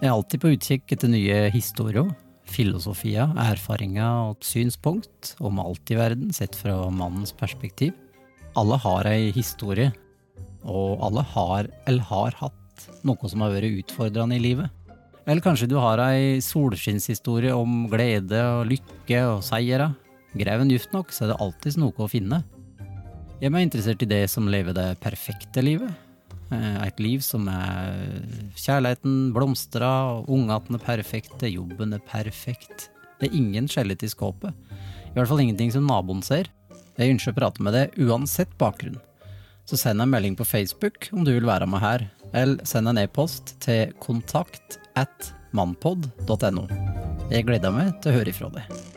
Jeg er alltid på utkikk etter nye historier, filosofier, erfaringer og synspunkt om alt i verden sett fra mannens perspektiv. Alle har ei historie, og alle har eller har hatt noe som har vært utfordrende i livet. Eller kanskje du har ei solskinnshistorie om glede og lykke og seiere. Greven dypt nok, så er det alltid noe å finne. Jeg er interessert i det som lever det perfekte livet. Et liv som er kjærligheten blomstrer, ungatene perfekte, jobben er perfekt. Det er ingen skjellet i skåpet. I hvert fall ingenting som naboen ser. Jeg ønsker å prate med deg uansett bakgrunn. Så send en melding på Facebook om du vil være med her, eller send en e-post til kontakt@mannpod.no. Jeg gleder meg til å høre ifra deg.